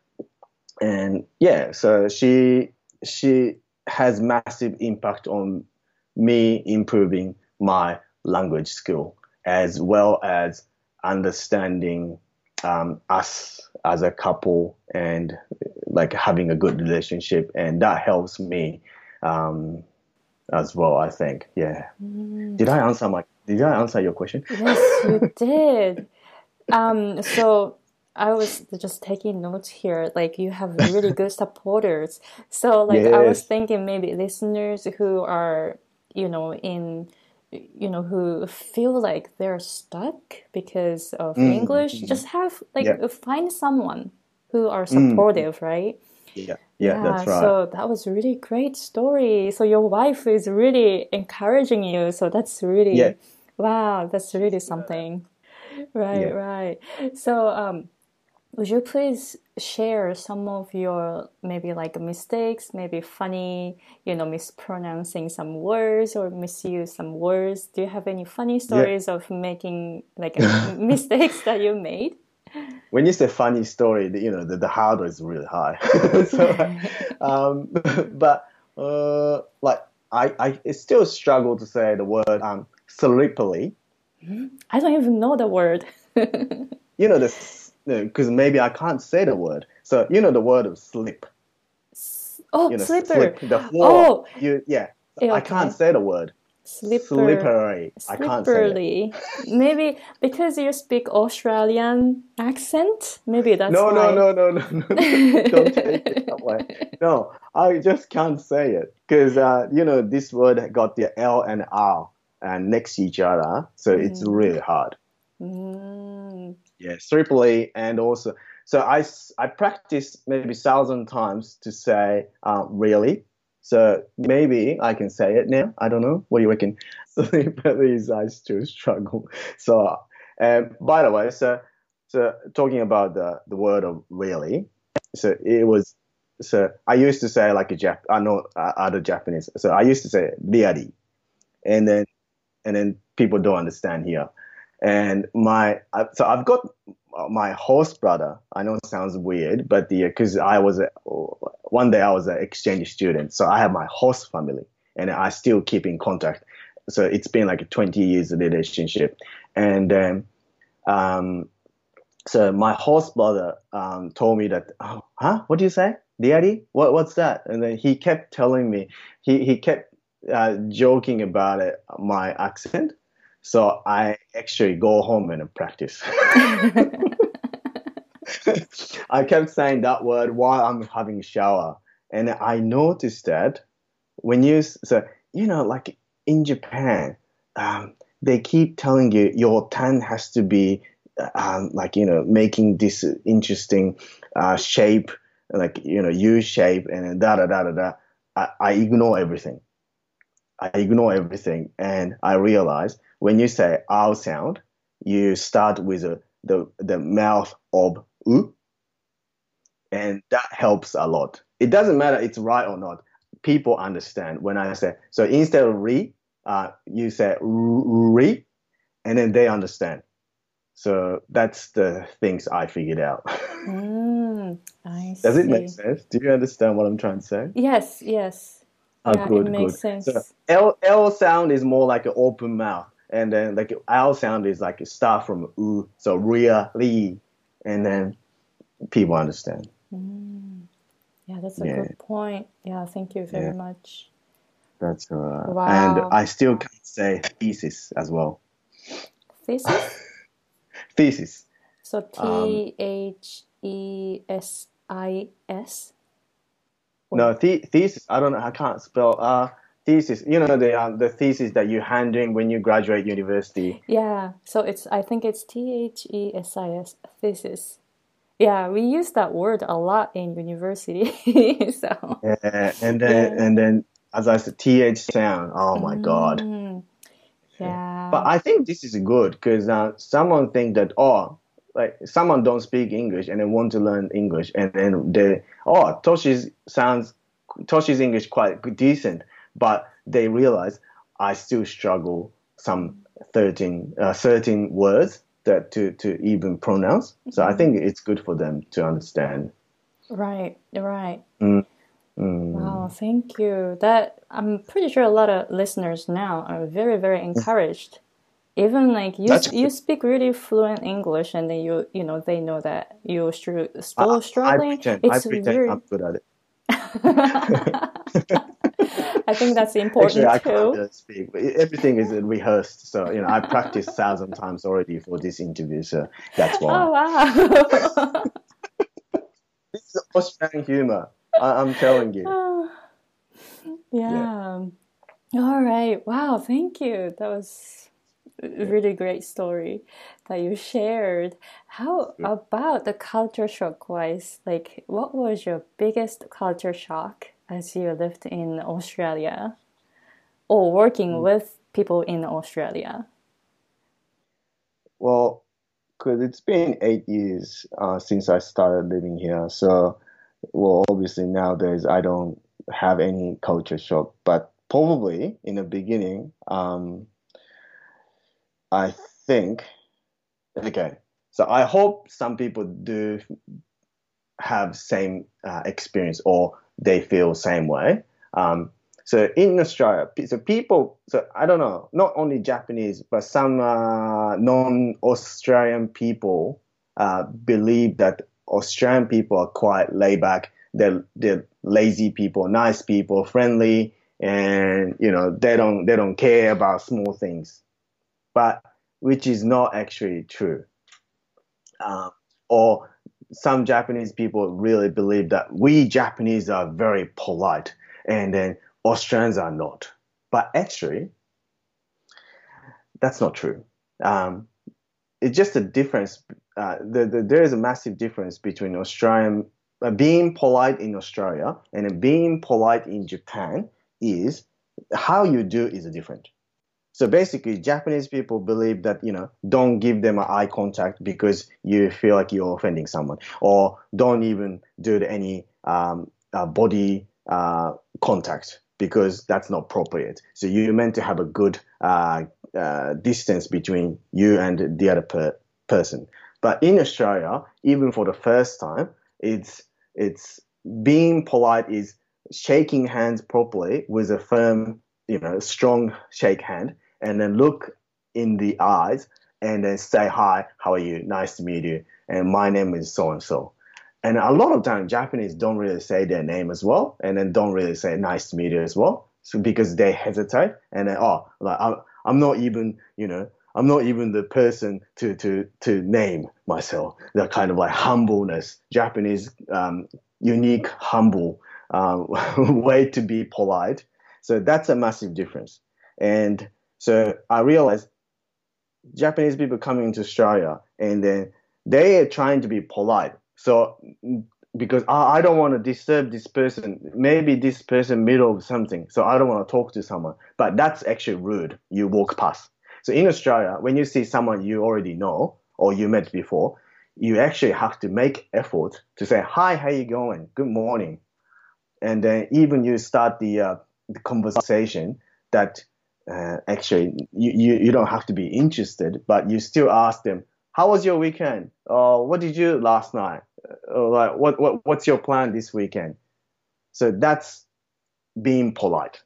B: And yeah, so she she has massive impact on me improving my language skill as well as understanding um, us as a couple and like having a good relationship, and that helps me um, as well. I think, yeah.
A: Mm.
B: Did I answer my? Did I answer your question?
A: Yes, you did. Um, so I was just taking notes here. Like you have really good supporters. So like I was
B: Yes.
A: thinking maybe listeners who are, you know, in, you know, who feel like they're stuck because of
B: Mm,
A: English,
B: mm,
A: just have like
B: yeah.
A: find someone who are
B: Mm,
A: supportive, right?
B: yeah. Yeah.
A: Yeah,
B: That's right.
A: so that was really great story. So your wife is really encouraging you. So that's
B: Yeah.
A: really, wow, that's
B: She's
A: really
B: good at that.
A: something. Right,
B: Yeah.
A: right. So, um, would you please share some of your maybe like mistakes, maybe funny, you know, mispronouncing some words or misuse some words? Do you have any funny
B: Yeah.
A: stories of making like uh, mistakes that you made?
B: When you say funny story, the, you know, the, the hardware is really high. So, um, but uh, like I, I still struggle to say the word um, sleepily.
A: I don't even know the word.
B: You know, this because maybe I can't say the word. So you know the word of slip.
A: Oh,
B: You know,
A: slipper.
B: slip the floor.
A: Oh,
B: You yeah.
A: eh,
B: I can't
A: okay.
B: say the word
A: Slipper,
B: slippery. I can't say it.
A: slipperly. Maybe because you speak Australian accent. Maybe that's
B: No, no,
A: why.
B: no, no, no, no, no. Don't take it that way. No, I just can't say it because uh, you know this word got the L and R and next to each other, so it's
A: Mm.
B: really hard.
A: Mm.
B: Yeah, triply and also so I s- I practice maybe thousand times to say uh, really. So maybe I can say it now. I don't know. What do you reckon? But these I still struggle. So, um, by the way, so so talking about the the word of really, so it was so I used to say like a Jap. I know uh, other Japanese. So I used to say really, and then and then people don't understand here. And my I- so I've got my host brother. I know it sounds weird, but the because I was a, one day I was an exchange student, so I have my host family, and I still keep in contact. So it's been like a twenty years relationship, and um, um, so my host brother um, told me that, oh, huh? What do you say, Daddy? What what's that? And then he kept telling me, he he kept uh, joking about it, my accent. So I actually go home and practice. I kept saying that word while I'm having a shower, and I noticed that when you so you know like in Japan, um, they keep telling you your tongue has to be um, like you know making this interesting uh, shape, like you know U shape and da da da da da. I, I ignore everything. I ignore everything, and I realize when you say "ow" sound, you start with a, the the mouth of "u," and that helps a lot. It doesn't matter it's right or not. People understand when I say so. Instead of "re," uh, you say "re," and then they understand. So that's the things I figured out.
A: Mm, I
B: Does it make
A: see.
B: sense? Do you understand what I'm trying to say?
A: Yes, yes.
B: Oh,
A: Yeah, it
B: good,
A: makes
B: good. So
A: sense.
B: L L sound is more like an open mouth, and then like L sound is like a start from U, so really, and then people understand.
A: Mm, yeah, that's a
B: Yeah,
A: good point. Yeah, thank you very
B: yeah,
A: much.
B: that's uh, and
A: Wow.
B: I still can't say thesis as well.
A: Thesis?
B: Thesis.
A: So
B: Um,
A: T H E S I S? Or
B: no, the, thesis. I don't know. I can't spell. Uh, thesis. You know the um, the thesis that you're handling when you graduate university.
A: yeah, so it's I think it's T H E S I S, thesis. Yeah, we use that word a lot in university. So,
B: Yeah, and then
A: yeah.
B: and then as I said, T H sound. Oh my God.
A: Mm,
B: Yeah. But
A: yeah.
B: I think this is good because uh, someone think that oh, like someone don't speak English and they want to learn English and then they oh Toshi's sounds Toshi's English quite good- decent, but they realize I still struggle some thirteen uh, thirteen words that to to even pronounce. So I
A: Mm,
B: think it's good for them to understand.
A: right, right.
B: Mm,
A: Wow,
B: mm.
A: thank you. That I'm pretty sure a lot of listeners now are very, very encouraged. Even like you,
B: That's
A: s- you
B: good.
A: speak really fluent English, and then you, you know, they know that you're str
B: I,
A: still
B: I
A: struggling.
B: pretend I
A: It's
B: pretend I'm
A: very.
B: good at it.
A: I think that's
B: Actually,
A: important
B: I can't
A: too.
B: really speak. Everything is rehearsed, so you know I practiced thousand times already for this interview, so that's why.
A: Oh wow.
B: This is Australian humor. I, I'm telling you. Yeah.
A: Yeah. All right. Wow. Thank you. That was a
B: Yeah.
A: really great story that you shared. How
B: Good.
A: about the culture shock wise? Like, what was your biggest culture shock as you lived in Australia or working with people in Australia?
B: Well, because it's been eight years uh, since I started living here, so well, obviously nowadays I don't have any culture shock, but probably in the beginning, um, I think. Okay. So I hope some people do have same uh, experience or they feel same way. Um, so in Australia, so people, so I don't know, not only Japanese, but some uh, non-Australian people uh, believe that Australian people are quite laid back. They're, they're lazy people, nice people, friendly, and you know they don't they don't care about small things. But which is not actually true. Um, or some Japanese people really believe that we Japanese are very polite and then Australians are not. But actually, that's not true. Um, it's just a difference. Uh, the, the, there is a massive difference between Australian uh, being polite in Australia and being polite in Japan is how you do is different. So basically, Japanese people believe that, you know, don't give them an eye contact because you feel like you're offending someone, or don't even do any um, uh, body uh, contact because that's not appropriate. So you're meant to have a good uh, uh, distance between you and the other per- person. But in Australia, even for the first time, it's it's being polite is shaking hands properly with a firm, you know, strong shake hand and then look in the eyes and then say, hi, how are you? Nice to meet you. And my name is so and so. And a lot of times Japanese don't really say their name as well, and then don't really say nice to meet you as well. So because they hesitate and then, oh, like I'm, I'm not even, you know, I'm not even the person to to to name myself. That kind of like humbleness, Japanese um, unique humble um, way to be polite. So that's a massive difference. And so I realized Japanese people coming into Australia and then they are trying to be polite. So because I, I don't want to disturb this person. Maybe this person middle of something, so I don't want to talk to someone. But that's actually rude. You walk past. So in Australia, when you see someone you already know or you met before, you actually have to make effort to say, hi, how you going? Good morning. And then even you start the, uh, the conversation that uh, actually you, you, you don't have to be interested, but you still ask them, how was your weekend? Or what did you do last night? Or like, what, what, what's your plan this weekend? So that's being polite.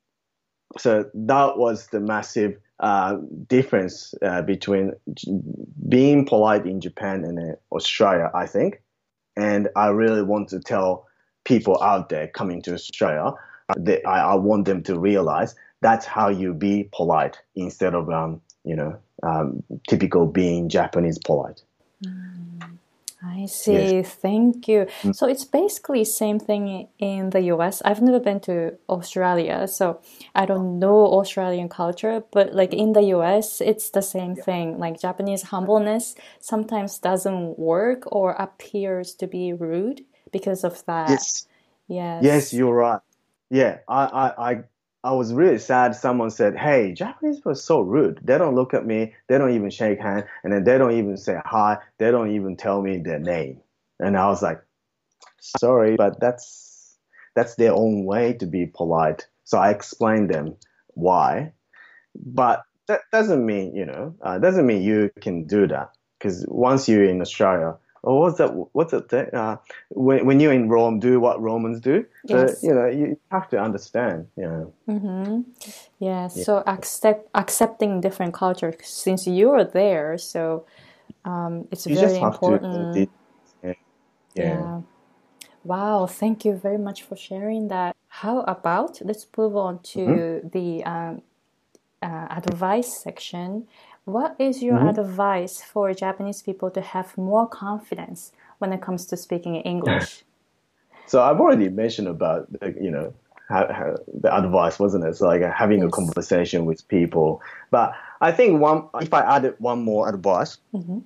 B: So that was the massive uh, difference uh, between being polite in Japan and uh, Australia, I think. And I really want to tell people out there coming to Australia that I, I want them to realize that's how you be polite instead of, um, you know, um, typical being Japanese polite.
A: Mm, I see. Yes. Thank you. Mm. So it's basically same thing in the U S. I've never been to Australia, so I don't know Australian culture, but like in the U S, it's the same thing. Like Japanese humbleness sometimes doesn't work or appears to be rude because of that.
B: Yes.
A: Yes.
B: Yes, you're right. Yeah, I, I, I, I was really sad. Someone said, "Hey, Japanese people are so rude. They don't look at me. They don't even shake hands, and then they don't even say hi. They don't even tell me their name." And I was like, "Sorry, but that's that's their own way to be polite." So I explained them why, but that doesn't mean you know uh, doesn't mean you can do that, because once you're in Australia. Oh, what's that? What's that thing? Uh, when when you're in Rome, do what Romans do.
A: Yes.
B: So you know you have to understand. You know.
A: Mm-hmm. Yeah. So accept accepting different cultures since you're there. So um, it's
B: you
A: very
B: just have
A: important.
B: To, uh, yeah.
A: Yeah. yeah. Wow. Thank you very much for sharing that. How about let's move on to mm-hmm. the um, uh, advice section. What is your mm-hmm. advice for Japanese people to have more confidence when it comes to speaking English?
B: So I've already mentioned about, you know, how, how the advice, wasn't it? So like having yes. a conversation with people. But I think one, if I added one more advice, mm-hmm.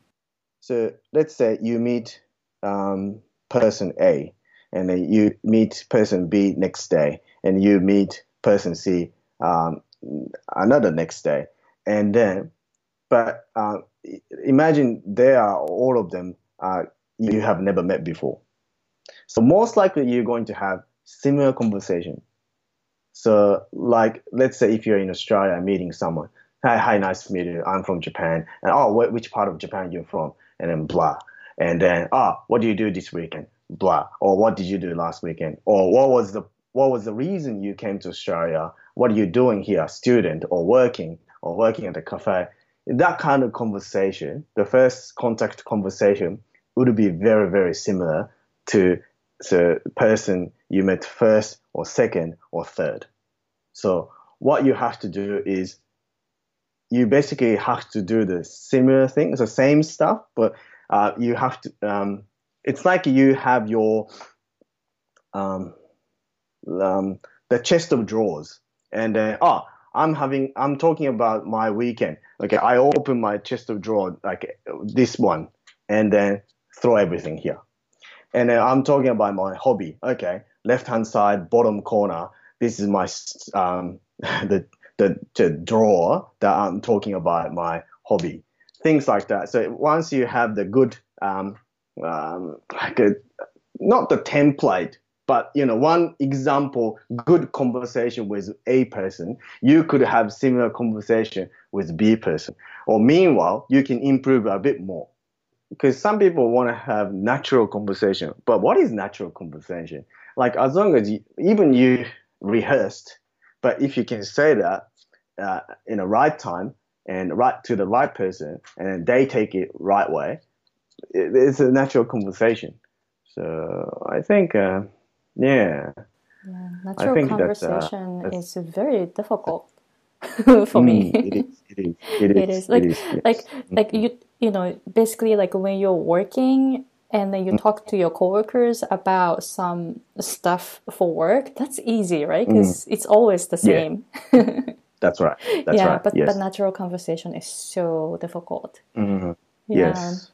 B: so let's say you meet um, person A, and then you meet person B next day, and you meet person C um, another next day, and then. But uh, imagine they are all of them uh, you have never met before. So most likely you're going to have similar conversation. So like, let's say if you're in Australia meeting someone, hi, hi, nice to meet you. I'm from Japan. And oh, wh- which part of Japan you're from? And then blah. And then, oh, what do you do this weekend? Blah. Or what did you do last weekend? Or what was the what was the reason you came to Australia? What are you doing here? Student or working or working at a cafe? That kind of conversation, the first contact conversation would be very, very similar to the person you met first or second or third. So what you have to do is you basically have to do the similar things, the same stuff, but uh, you have to, um, it's like you have your, um, um, the chest of drawers and then, oh, I'm having, I'm talking about my weekend. Okay, I open my chest of drawers, like this one, and then throw everything here. And then I'm talking about my hobby. Okay, left-hand side, bottom corner. This is my, um, the, the, the drawer that I'm talking about my hobby. Things like that. So once you have the good, um, um, like a, not the template, but, you know, one example, good conversation with A person, you could have similar conversation with B person. Or meanwhile, you can improve a bit more. Because some people want to have natural conversation. But what is natural conversation? Like, as long as you, even you rehearsed, but if you can say that uh, in the right time and right to the right person, and they take it right way, it, it's a natural conversation. So I think... Uh, Yeah.
A: yeah, natural conversation uh, is very difficult for
B: mm,
A: me.
B: it is. It is. It is.
A: It is. Like,
B: it is, yes.
A: like, like you, you know, basically, like when you're working and then you talk to your coworkers about some stuff for work. That's easy, right? Because mm. it's always the same.
B: Yeah. That's right. That's
A: yeah,
B: right.
A: but
B: yes.
A: but natural conversation is so difficult.
B: Mm-hmm.
A: Yeah.
B: Yes.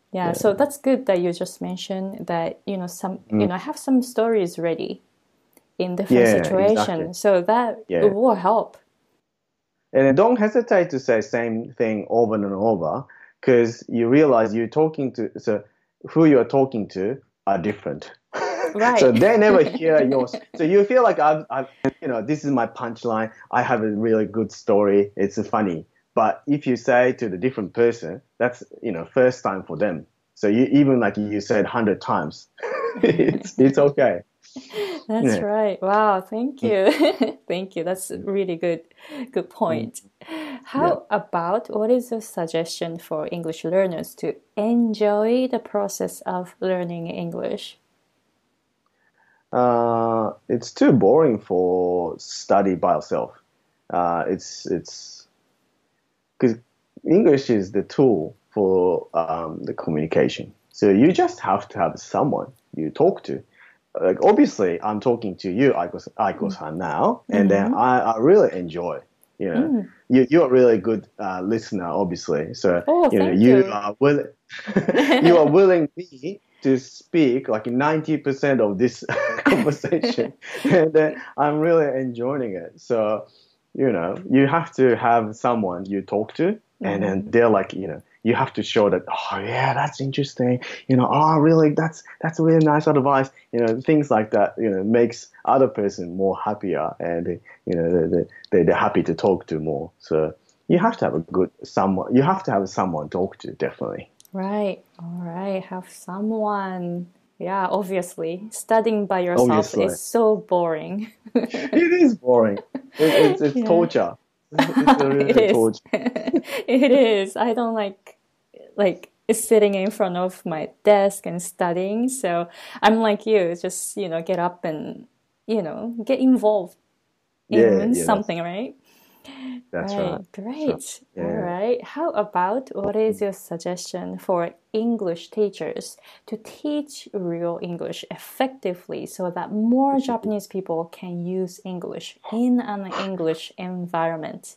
A: Yeah,
B: Yeah.
A: so that's good that you just mentioned that, you know, some,
B: Mm.
A: you know, have some stories ready in different
B: Yeah, exactly.
A: situations. So that
B: Yeah.
A: it will help.
B: And then don't hesitate to say same thing over and over because you realize you're talking to, so who you're talking to are different.
A: Right.
B: So they never hear yours. So you feel like I've, I've, you know, this is my punchline. I have a really good story. It's funny. But if you say to the different person, that's, you know, first time for them. So you, even like you said a hundred times, it's, it's okay.
A: That's
B: Yeah.
A: right. Wow, thank you. Thank you. That's a really good good point. How
B: Yeah.
A: about what is your suggestion for English learners to enjoy the process of learning English?
B: Uh, it's too boring for study by yourself. Uh, it's it's because English is the tool for um, the communication. So you just have to have someone you talk to. Like obviously, I'm talking to you, Aiko, Aiko-san now, and then I, I really enjoy. You know,
A: Mm.
B: you you're a really good uh, listener, obviously. So
A: Oh,
B: you know,
A: thank
B: you
A: you.
B: are willing. You are willing me to speak like ninety percent of this conversation, and then I'm really enjoying it. So you know, you have to have someone you talk to, and then
A: Mhm.
B: they're like, you know, you have to show that, oh yeah, that's interesting. You know, oh really, that's that's a really nice advice. You know, things like that. You know, makes other person more happier, and you know, they they they're happy to talk to more. So you have to have a good someone. You have to have someone to talk to, definitely.
A: Right. All right. Have someone. Yeah, obviously. Studying by yourself
B: Obviously,
A: is so boring.
B: it is boring. It, it's it's
A: Yeah.
B: torture. It's a
A: It
B: really
A: is.
B: torture.
A: It is. I don't like like sitting in front of my desk and studying. So I'm like you, just, you know, get up and, you know, get involved
B: Yeah,
A: in
B: yeah, that's
A: something, right?
B: that's right.
A: Right,
B: That's right.
A: great. All
B: Yeah.
A: right. How about what is your suggestion for English teachers to teach real English effectively so that more Japanese people can use English in an English environment?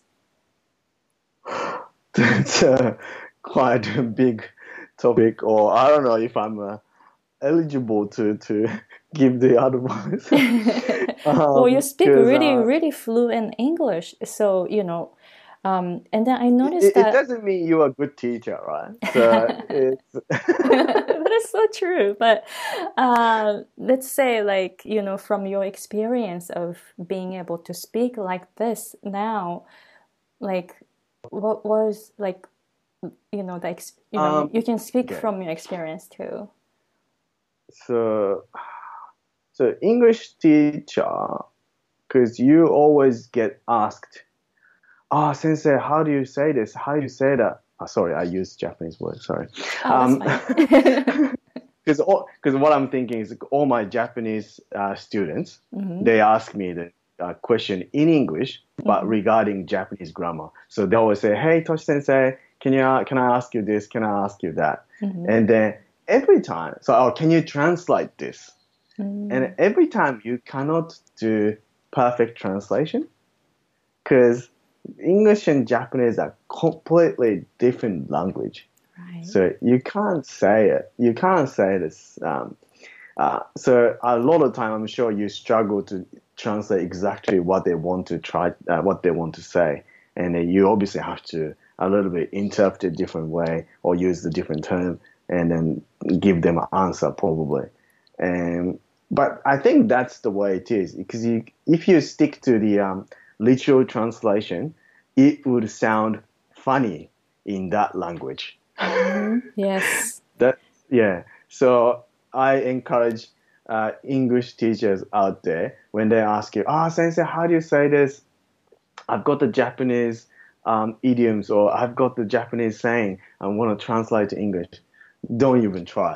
B: That's uh, quite a big topic, or I don't know if I'm uh, eligible to to give the advice.
A: Well, you
B: um,
A: speak
B: because
A: really,
B: uh,
A: really fluent English. So, you know, um, and then I noticed
B: it, it
A: that
B: doesn't mean you're a good teacher, right? So it's
A: that is so true. But uh, let's say, like, you know, from your experience of being able to speak like this now, like, what was like, you know, the ex- you know, you,
B: um
A: you can speak
B: okay.
A: from your experience too.
B: So so English teacher, because you always get asked, "Ah, oh, sensei, how do you say this? How do you say that?" Oh, sorry, I used Japanese word. Sorry.
A: Oh, that's
B: Um,
A: fine.
B: because because what I'm thinking is all my Japanese uh, students,
A: Hmm.
B: they ask me the uh, question in English, but
A: Hmm.
B: regarding Japanese grammar. So they always say, "Hey, Toshi Sensei, can you uh, can I ask you this? Can I ask you that?"
A: Hmm.
B: And then every time, so oh, can you translate this? And
A: Mm,
B: every time you cannot do perfect translation because English and Japanese are completely different language.
A: right.
B: So you can't say it. You can't say this. Um, uh, so a lot of time, I'm sure you struggle to translate exactly what they want to try, uh, what they want to say, and then you obviously have to a little bit interpret it a different way or use the different term, and then give them an answer probably. And but I think that's the way it is because you, if you stick to the um, literal translation, it would sound funny in that language.
A: Hmm. Yes.
B: That yeah. So I encourage uh, English teachers out there when they ask you, "Ah, oh, sensei, how do you say this? I've got the Japanese um, idioms or I've got the Japanese saying. I want to translate to English." Don't even try.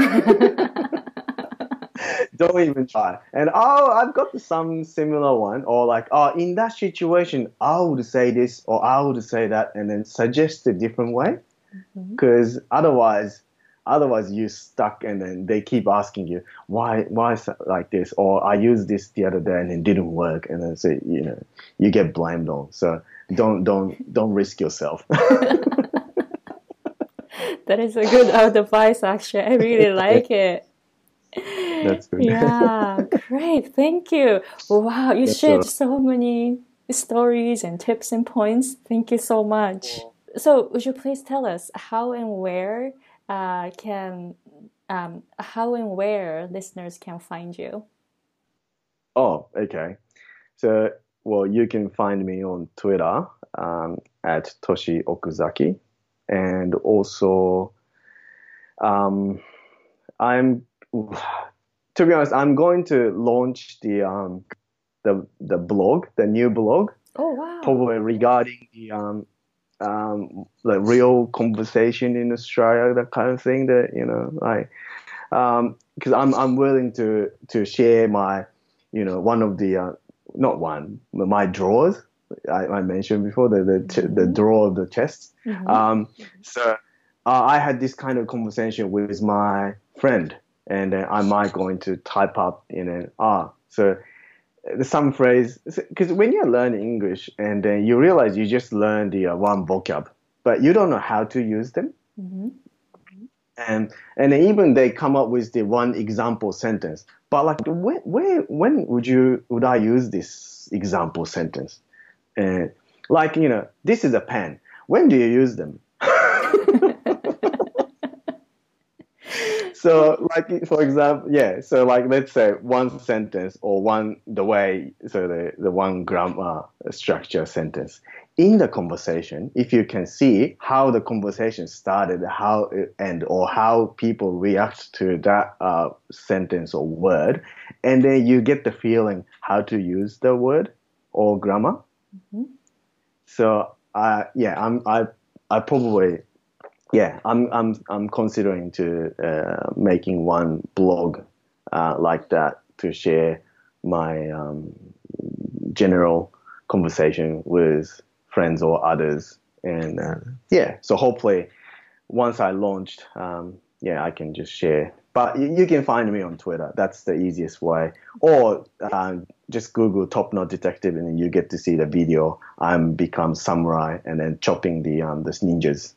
B: Don't even try. And oh, I've got some similar one, or like, oh, in that situation, I would say this or I would say that, and then suggest a different way.
A: Mhm.
B: Because otherwise, otherwise you're stuck, and then they keep asking you why, why is it like this, or I used this the other day and it didn't work, and then so you know you get blamed on. So don't, don't, don't risk yourself.
A: That is a good advice, actually. I really like it.
B: That's good.
A: Yeah, great. Thank you. Wow, you
B: That's
A: shared
B: all.
A: so many stories and tips and points. Thank you so much. So, would you please tell us how and where uh, can um, how and where listeners can find you?
B: Oh, okay. So, well, you can find me on Twitter um, at Toshi Okuzaki, and also um, I'm to be honest, I'm going to launch the um, the the blog, the new blog,
A: Oh, wow.
B: probably regarding the um, um, the real conversation in Australia, that kind of thing. That you know, like because I'm I'm willing to to share my, you know, one of the uh, not one my drawers I, I mentioned before, the the, mm-hmm. the drawer of the chest. Mm-hmm. Um, so uh, I had this kind of conversation with my friend, and uh, I might going to type up in an ah so. Some phrase, because when you're learning English and then you realize you just learn the uh, one vocab, but you don't know how to use them. Mm-hmm. And and even they come up with the one example sentence. But like, where, where when would you would I use this example sentence? And like, you know, this is a pen. When do you use them? So, like, for example, yeah. So, like, let's say one sentence or one the way. So the the one grammar structure sentence in the conversation. If you can see how the conversation started, how it ended, or how people react to that uh, sentence or word, and then you get the feeling how to use the word or grammar. Mm-hmm. So, uh, yeah, I'm I I probably. Yeah, I'm I'm I'm considering to uh, making one blog uh, like that to share my um, general conversation with friends or others, and uh, yeah. So hopefully, once I launched, um, yeah, I can just share. But you, you can find me on Twitter. That's the easiest way, or uh, just Google Top Knot Detective, and you get to see the video. I'm become samurai and then chopping the um the ninjas.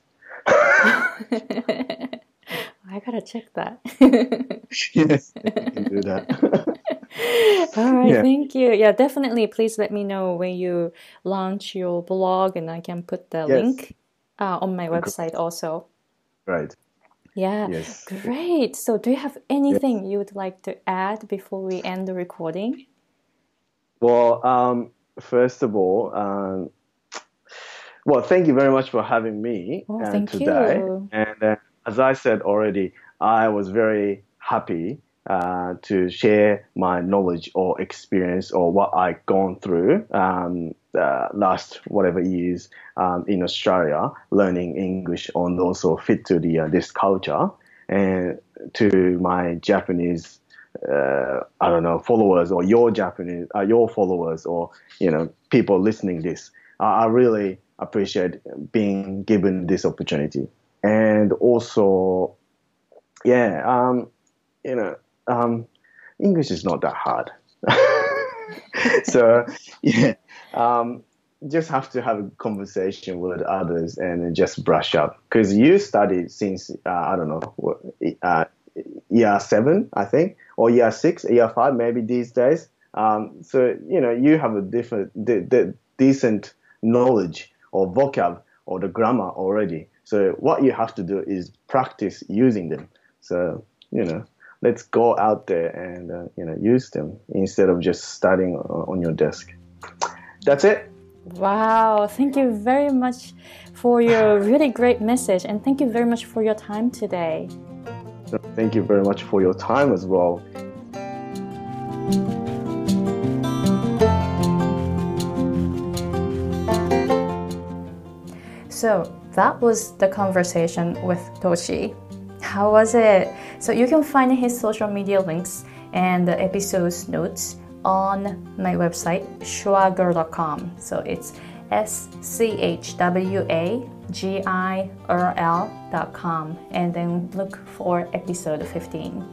A: I gotta check that.
B: Yes, you can do that.
A: All right, yeah. Thank you. Yeah, definitely. Please let me know when you launch your blog, and I can put the yes. link uh, on my website also.
B: Right.
A: Yeah.
B: Yes.
A: Great. So, do you have anything yes. you would like to add before we end the recording?
B: Well, um, first of all. Um, Well, thank you very much for having me
A: oh,
B: uh,
A: thank
B: today.
A: You.
B: And uh, as I said already, I was very happy uh, to share my knowledge or experience or what I've gone through um, uh, last whatever years um, in Australia, learning English and also fit to the uh, this culture, and to my Japanese. Uh, I don't know, followers or your Japanese, uh, your followers or, you know, people listening this. I, I really appreciate being given this opportunity. And also, yeah, um, you know, um, English is not that hard. So, yeah, um, just have to have a conversation with others and just brush up. Because you studied since, uh, I don't know, uh, year seven, I think, or year six, year five, maybe these days. Um, so, you know, you have a different, de- de- decent knowledge or vocab or the grammar already. So what you have to do is practice using them. So, you know, let's go out there and, uh, you know, use them instead of just studying on your desk. That's it.
A: Wow. Thank you very much for your really great message. And thank you very much for your time today.
B: Thank you very much for your time as well.
A: So that was the conversation with Toshi. How was it? So you can find his social media links and the episode's notes on my website, schwagirl dot com. So it's S C H W A G I R L dot com, and then look for episode fifteen.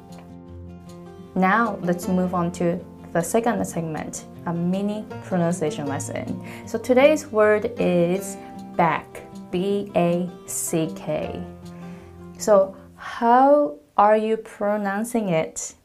A: Now let's move on to the second segment, a mini pronunciation lesson. So today's word is back, B A C K. So how are you pronouncing it?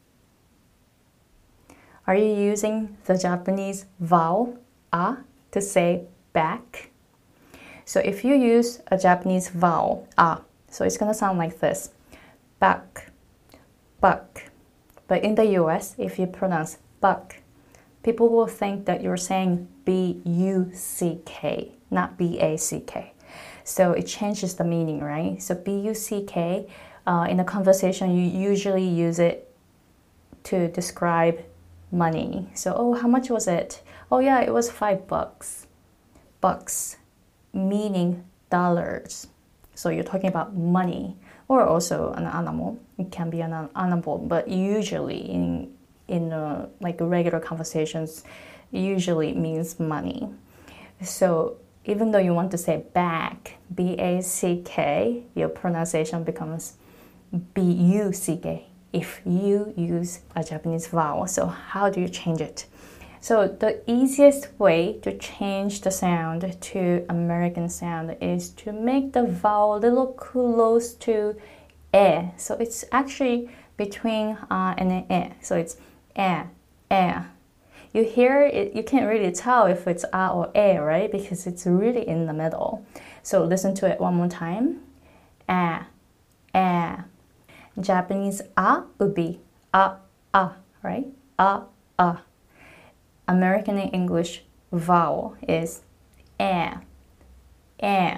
A: Are you using the Japanese vowel a to say back? So if you use a Japanese vowel a, so it's gonna sound like this: back, buck. But in the U S, if you pronounce buck, people will think that you're saying B U C K, not B A C K. So it changes the meaning, right? So B U C K, uh, in a conversation, you usually use it to describe money. So, oh, how much was it? Oh yeah, it was five bucks. Bucks, meaning dollars. So you're talking about money, or also an animal. It can be an animal, but usually in in uh, like regular conversations, usually means money. So even though you want to say back, B A C K, your pronunciation becomes B U C K if you use a Japanese vowel. So how do you change it? So the easiest way to change the sound to American sound is to make the vowel a little close to e. So it's actually between uh and e. So it's e, e. You hear it, you can't really tell if it's a or e, right? Because it's really in the middle. So listen to it one more time. A, e. Japanese a would be a, a, right? A, a. American English vowel is eh, eh.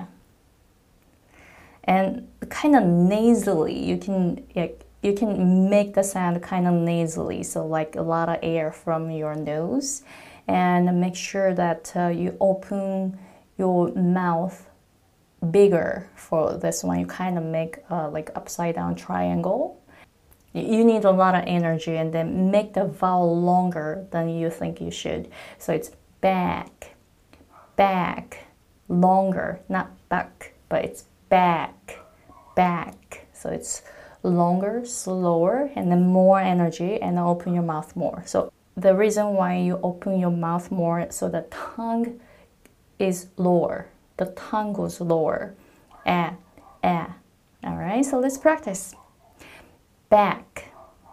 A: And kind of nasally, you can like, you can make the sound kind of nasally, so like a lot of air from your nose, and make sure that uh, you open your mouth bigger for this one. You kind of make uh, like upside down triangle. You need a lot of energy, and then make the vowel longer than you think you should. So it's back, back, longer, not back, but it's back, back. So it's longer, slower, and then more energy, and then open your mouth more. So the reason why you open your mouth more, so the tongue is lower. The tongue goes lower. Eh, eh. All right, so let's practice. Back,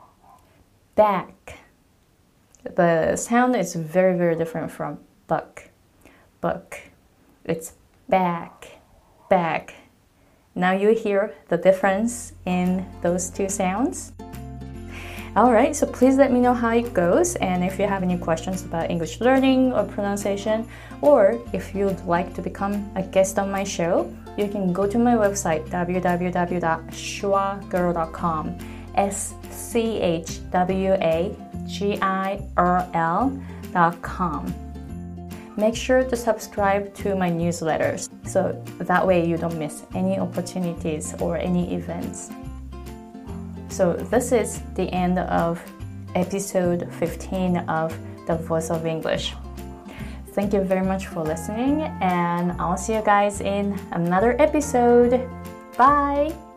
A: back. The sound is very, very different from buck, buck. It's back, back. Now you hear the difference in those two sounds. All right, so please let me know how it goes, and if you have any questions about English learning or pronunciation, or if you'd like to become a guest on my show, you can go to my website, w w w dot schwa girl dot com. S C H W A G I R L dot com. Make sure to subscribe to my newsletters, so that way you don't miss any opportunities or any events. So this is the end of episode fifteen of The Voice of English. Thank you very much for listening, and I'll see you guys in another episode. Bye!